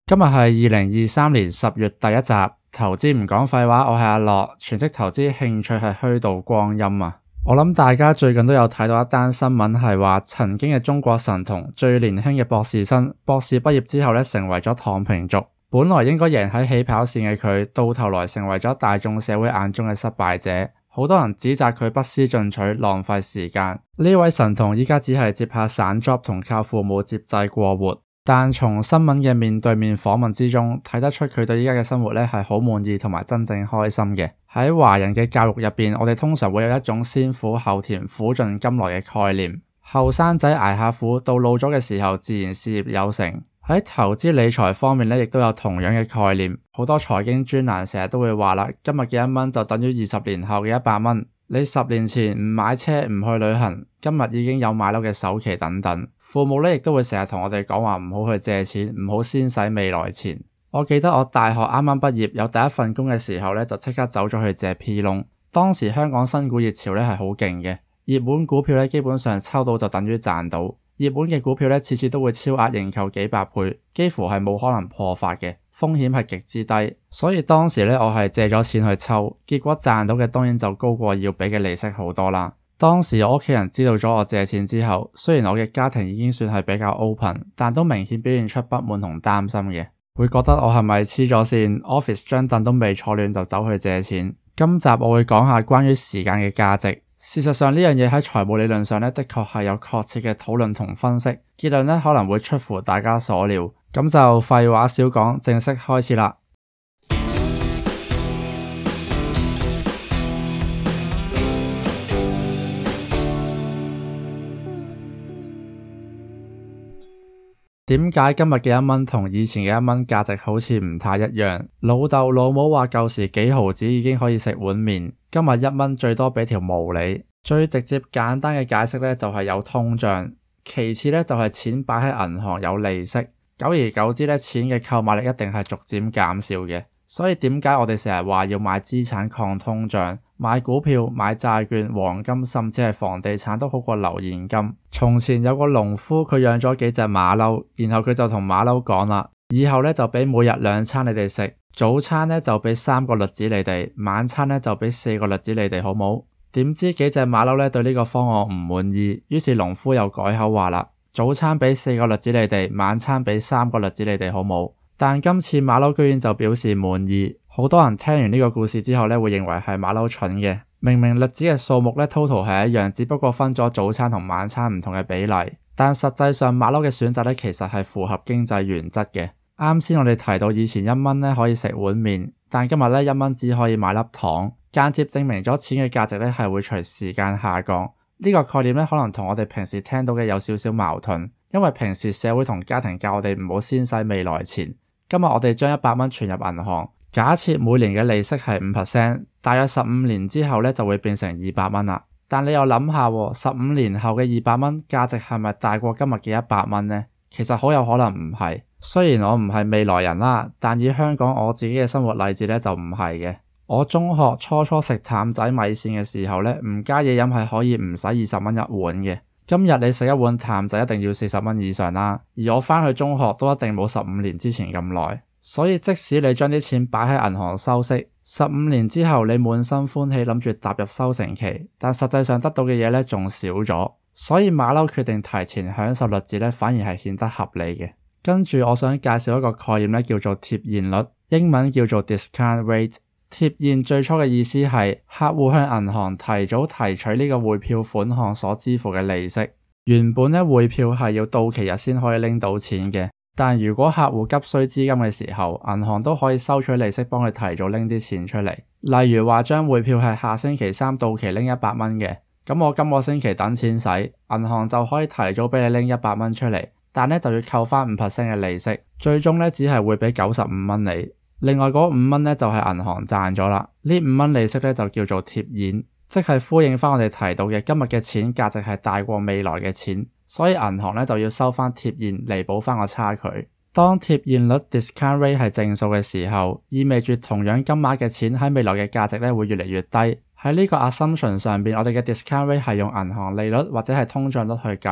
今日係2023年10月第一集，投資唔講廢話，我係阿樂，全職投資興趣係虛度光陰啊！我諗大家最近都有睇到一單新聞，係話曾經嘅中國神童最年輕嘅博士生，博士畢業之後成為咗躺平族，本來應該贏喺起跑線嘅佢，到頭來成為咗大眾社會眼中嘅失敗者。好多人指責佢不思進取，浪費時間。呢位神童依家只係接下散 job 同靠父母接濟過活。但從新聞嘅面對面訪問之中，睇得出佢對依家嘅生活係好滿意同埋真正開心嘅。喺華人嘅教育入邊，我哋通常會有一種先苦後甜、苦盡甘來嘅概念。後生仔捱下苦，到老咗嘅時候，自然事業有成。喺投資理財方面亦都有同樣嘅概念。好多財經專欄成日都會話啦，今日嘅1蚊就等於20年後嘅100蚊。你10年前唔買車唔去旅行，今日已經有買樓嘅首期等等。父母亦都會成日同我哋講話唔好去借錢，唔好先使未來錢。我記得我大學啱啱畢業有第一份工嘅時候就即刻走咗去借 P 窿。當時香港新股熱潮係好勁嘅，熱門股票基本上抽到就等於賺到。熱門嘅股票次次都會超額認購幾百倍，幾乎係冇可能破發嘅，風險係極之低。所以當時我係借咗錢去抽，結果賺到嘅當然就高過要俾嘅利息好多啦。當時我屋企人知道咗我借錢之後，雖然我嘅家庭已經算係比較 open， 但都明顯表現出不滿同擔心嘅，會覺得我係咪黐咗線 ，office 張凳都未坐暖就走去借錢。今集我會講下關於時間嘅價值。事實上呢樣嘢喺財務理論上的確係有確切嘅討論同分析，結論可能會出乎大家所料。咁就廢話少講，正式開始啦。點解今日嘅1蚊同以前嘅1蚊價值好似唔太一樣？老豆老母話舊時幾毫子已經可以食碗麵，今日1蚊最多俾條毛你。最直接簡單嘅解釋就係有通脹，其次就係錢擺喺銀行有利息，久而久之錢嘅購買力一定係逐漸減少嘅。所以點解我哋成日話要買資產抗通脹，買股票、買債券、黃金，甚至係房地產都好過留現金。從前有個農夫，佢養咗幾隻馬騮，然後佢就同馬騮講啦，以後就俾每日2餐你哋食，早餐就俾3個栗子你哋，晚餐就俾4個栗子你哋，好冇？點知幾隻馬騮對呢個方案唔滿意，於是農夫又改口話啦，早餐俾4個栗子你哋，晚餐俾3個栗子你哋，好冇？但今次馬騮居然就表示滿意。好多人聽完呢個故事之後會認為係馬騮蠢嘅，明明栗子嘅數目total 係一樣，只不過分咗早餐同晚餐唔同嘅比例，但實際上馬騮嘅選擇其實係符合經濟原則嘅。啱先我哋提到以前1蚊可以食碗麵，但今日1蚊只可以買粒糖，間接證明咗錢嘅價值係會隨時間下降。呢個概念可能同我哋平時聽到嘅有少少矛盾，因為平時社會同家庭教我哋唔好先使未來錢。今日我哋將100蚊存入銀行，假設每年嘅利息係 5%， 大約15年之後就會變成200蚊啦。但你又諗下，15年後嘅200蚊價值係咪大過今日嘅100蚊呢？其實好有可能唔係。雖然我唔係未來人啦，但以香港我自己嘅生活例子就唔係嘅。我中學初食淡仔米線嘅時候唔加嘢飲係可以唔使20蚊一碗嘅。今日你食一碗淡仔一定要40蚊以上啦，而我返去中學都一定冇15年之前咁耐。所以即使你將啲錢擺喺銀行收息，15年之後你滿心歡喜諗住踏入收成期，但實際上得到嘅嘢仲少咗。所以馬騮決定提前享受栗子反而係顯得合理嘅。跟住我想介紹一個概念叫做貼現率，英文叫做 discount rate。貼現最初嘅意思係客戶向銀行提早提取呢個匯票款項所支付嘅利息。原本匯票係要到期日先可以拎到錢嘅，但如果客戶急需資金嘅時候，銀行都可以收取利息幫佢提早拎啲錢出嚟。例如話張匯票係下星期3到期拎100蚊嘅，咁我今個星期等錢使，銀行就可以提早俾你拎100蚊出嚟，但就要扣返 5% 嘅利息，最終只係會俾95蚊你。另外嗰5蚊就係銀行賺咗啦。呢5蚊利息就叫做貼現，即係呼應返我哋提到嘅今日嘅錢價值係大過未來嘅錢，所以銀行就要收返貼現彌補返個差距。當貼現率 discount rate 係正數嘅時候，意味住同樣金額嘅錢喺未來嘅價值會越嚟越低。喺呢個 assumption 上邊，我哋嘅 discount rate 係用銀行利率或者係通脹率去計。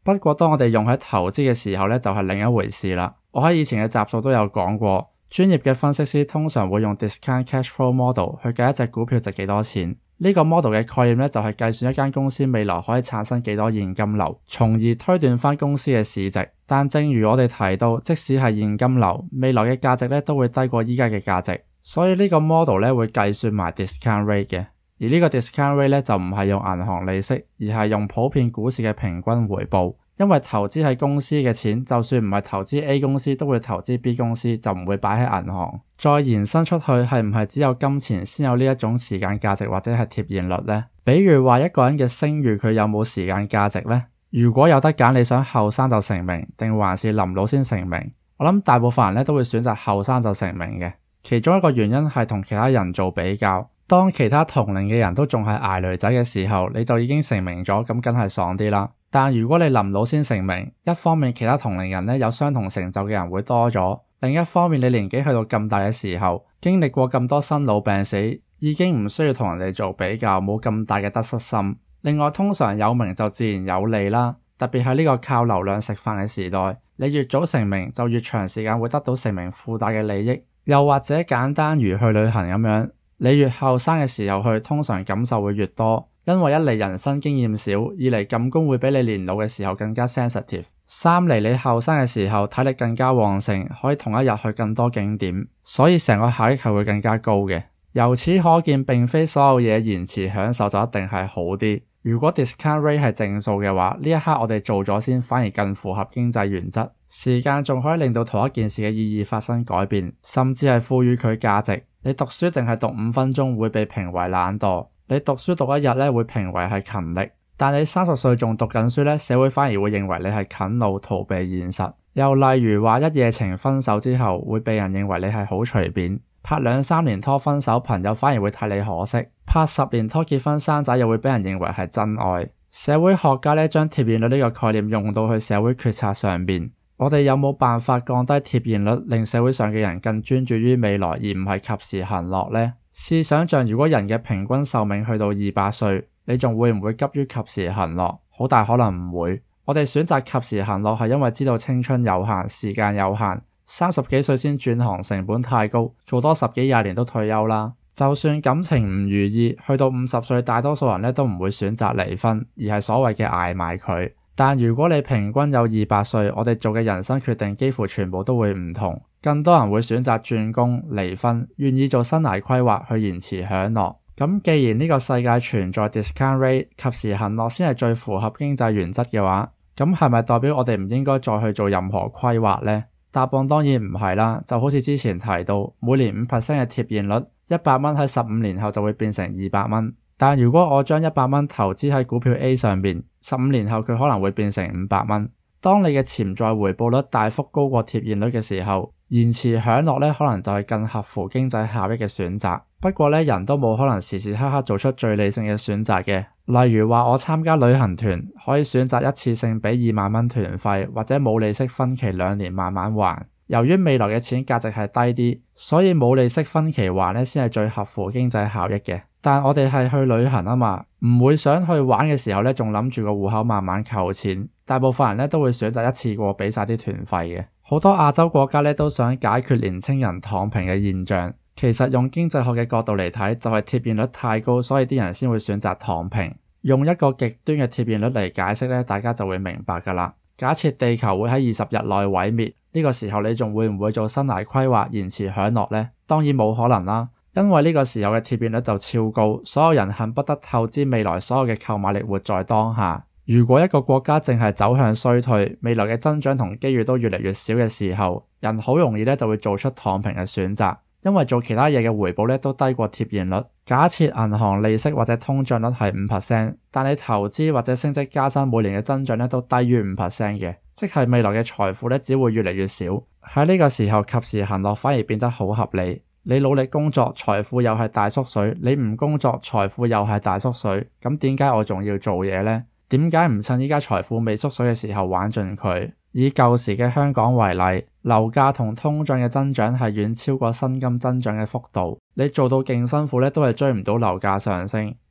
不過當我哋用喺投資嘅時候呢，就係另一回事啦。我喺以前嘅集數都有講過，專業嘅分析師通常會用 discount cash flow model 去計一隻股票值幾多錢。呢個 model 嘅概念呢，就係計算一間公司未來可以產生幾多現金流，從而推斷翻公司嘅市值。但正如我哋提到，即使係現金流，未來嘅價值呢都會低過依家嘅價值，所以呢個 model 呢會計算埋 discount rate 嘅。而呢個 discount rate 呢就唔係用銀行利息，而係用普遍股市嘅平均回報。因為投資喺公司嘅錢，就算唔係投資 A 公司，都會投資 B 公司，就唔會擺喺銀行。再延伸出去，係唔係只有金錢先有呢一種時間價值或者係貼現率呢？比如話一個人嘅聲譽，佢有冇時間價值呢？如果有得揀，你想後生就成名，定還是臨老先成名？我諗大部分人咧都會選擇後生就成名嘅。其中一個原因係同其他人做比較。當其他同齡嘅人都仲係捱女仔嘅時候，你就已經成名咗，咁梗係爽啲啦。但如果你臨老先成名，一方面其他同齡人有相同成就嘅人會多咗，另一方面你年紀去到咁大嘅時候，經歷過咁多生老病死，已經唔需要同人哋做比較，冇咁大嘅得失心。另外，通常有名就自然有利啦，特別係呢個靠流量食飯嘅時代，你越早成名就越長時間會得到成名附帶嘅利益。又或者簡單如去旅行咁樣，你越後生嘅時候去，通常感受會越多，因為一嚟人生經驗少，二嚟感官會比你年老嘅時候更加 sensitive，三嚟你後生嘅時候體力更加旺盛，可以同一日去更多景點，所以成個效益係會更加高嘅。由此可見，並非所有嘢延遲享受就一定係好啲。如果 discount rate 係正數嘅話，呢一刻我哋做咗先，反而更符合經濟原則。時間仲可以令到同一件事嘅意義發生改變，甚至係賦予佢價值。你讀書淨係讀5分鐘會被評為懶惰，你讀書讀一日會評為係勤力。但你30歲仲讀緊書社會反而會認為你係啃老逃避現實。又例如話一夜情分手之後，會被人認為你係好隨便。拍2-3年拖分手，朋友反而會睇你可惜；拍10年拖結婚生仔，又會俾人認為係真愛。社會學家將貼現率呢個概念用到去社會決策上邊。我哋有冇辦法降低貼現率，令社會上嘅人更專注於未來，而唔係及時行樂呢？試想像如果人嘅平均壽命去到200歲，你仲會唔會急於及時行樂？好大可能唔會。我哋選擇及時行樂係因為知道青春有限，時間有限。30幾歲先轉行成本太高，做多10幾20年都退休啦。就算感情唔如意，去到50歲，大多數人都唔會選擇離婚，而係所謂嘅捱埋佢。但如果你平均有200歲，我哋做嘅人生決定幾乎全部都會唔同。更多人會選擇轉工、離婚，願意做生涯規劃去延遲享樂。咁既然呢個世界存在 discount rate， 及時行樂先係最符合經濟原則嘅話，咁係咪代表我哋唔應該再去做任何規劃呢？答案當然唔係啦，就好似之前提到，每年5% 嘅貼現率，100蚊喺15年後就會變成200蚊。但如果我將100蚊投資喺股票 A 上面，15年後佢可能會變成500蚊。當你嘅潛在回報率大幅高過貼現率嘅時候，延遲享樂可能就係更合乎經濟效益嘅選擇。不過人都冇可能時時刻刻做出最理性嘅選擇嘅。例如話我參加旅行團，可以選擇一次性俾2萬蚊團費，或者冇利息分期2年慢慢還。由於未來嘅錢價值係低啲，所以冇利息分期還先係最合乎經濟效益嘅。但我哋係去旅行啊嘛，唔會想去玩嘅時候仲諗住個戶口慢慢扣錢。大部分人都會選擇一次過俾晒啲團費嘅。好多亞洲國家都想解決年輕人躺平嘅現象。其實用經濟學嘅角度嚟睇，就係貼現率太高，所以啲人先會選擇躺平。用一個極端嘅貼現率嚟解釋大家就會明白㗎啦。假設地球會喺20日內毀滅，呢個時候你仲會唔會做生涯規劃延遲享樂呢？當然冇可能啦，因為呢個時候嘅貼現率就超高，所有人恨不得透支未來所有嘅購買力活在當下。如果一個國家淨係走向衰退，未來嘅增長同機遇都越嚟越少嘅時候，人好容易就會做出躺平嘅選擇。因為做其他嘢嘅回報都低過貼現率。假設銀行利息或者通脹率係 5%， 但你投資或者升職加薪每年嘅增長都低於 5% 嘅，即係未來嘅財富只會越嚟越少。喺呢個時候，及時行樂反而變得好合理。你努力工作，財富又係大縮水；你唔工作，財富又係大縮水。咁點解我仲要做嘢呢？點解唔趁依家財富未縮水嘅時候玩盡佢？以舊時嘅香港為例，樓價同通脹嘅增長係遠超過薪金增長嘅幅度。你做到勁辛苦都係追唔到樓價上升。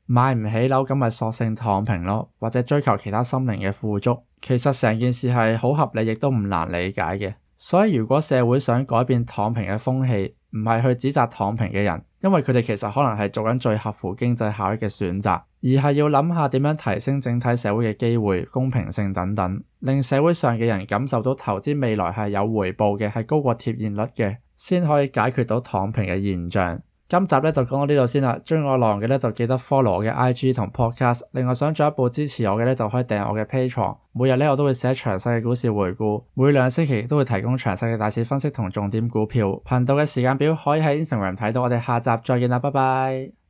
買唔起樓咁咪索性躺平咯，或者追求其他心靈嘅富足。其實成件事係好合理，亦都唔難理解嘅。所以如果社會想改變躺平嘅風氣，唔係去指責躺平嘅人，因為佢哋其實可能係做緊最合乎經濟效益嘅選擇，而係要諗下點樣提升整體社會嘅機會、公平性等等，令社會上嘅人感受到投資未來係有回報嘅，係高過貼現率嘅，先可以解決到躺平嘅現象。今集咧就講到呢度先啦，鍾意我內容嘅咧就記得 follow 我嘅 IG 同 podcast， 另外想進一步支持我嘅咧就可以訂閱我嘅 Patreon， 每日咧我都會寫詳細嘅股市回顧，每兩星期都會提供詳細嘅大市分析同重點股票。頻道嘅時間表可以喺 Instagram 睇到，我哋下集再見啦，拜拜。